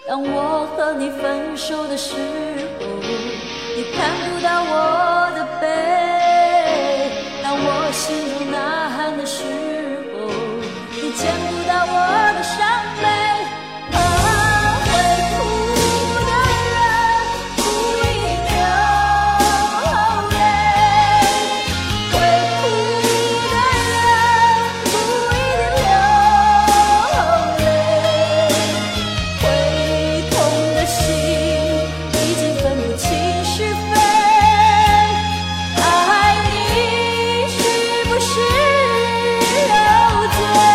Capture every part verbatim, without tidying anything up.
当我和你分手的时候，你看不到我的背；当我心中呐喊的时候，你见不到我的伤悲。啊，会哭的人不一定流泪，会哭的人不一定流泪，会痛的心已经分不清是非。爱你是不是有罪？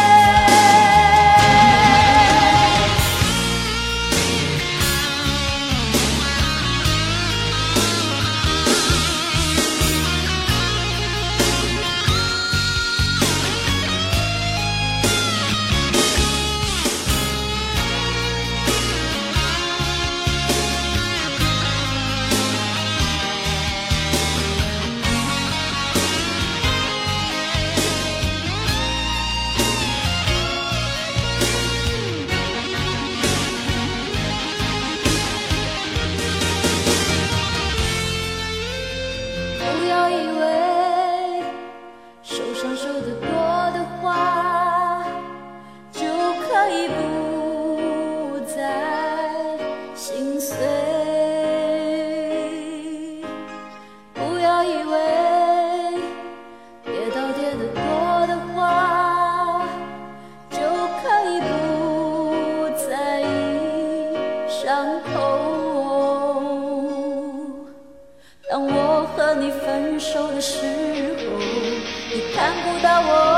不要以为受伤受得多的话，就可以不再心碎。不要以为跌倒跌得多的话，就可以不在意伤口。当我和你分手的时候，你看不到我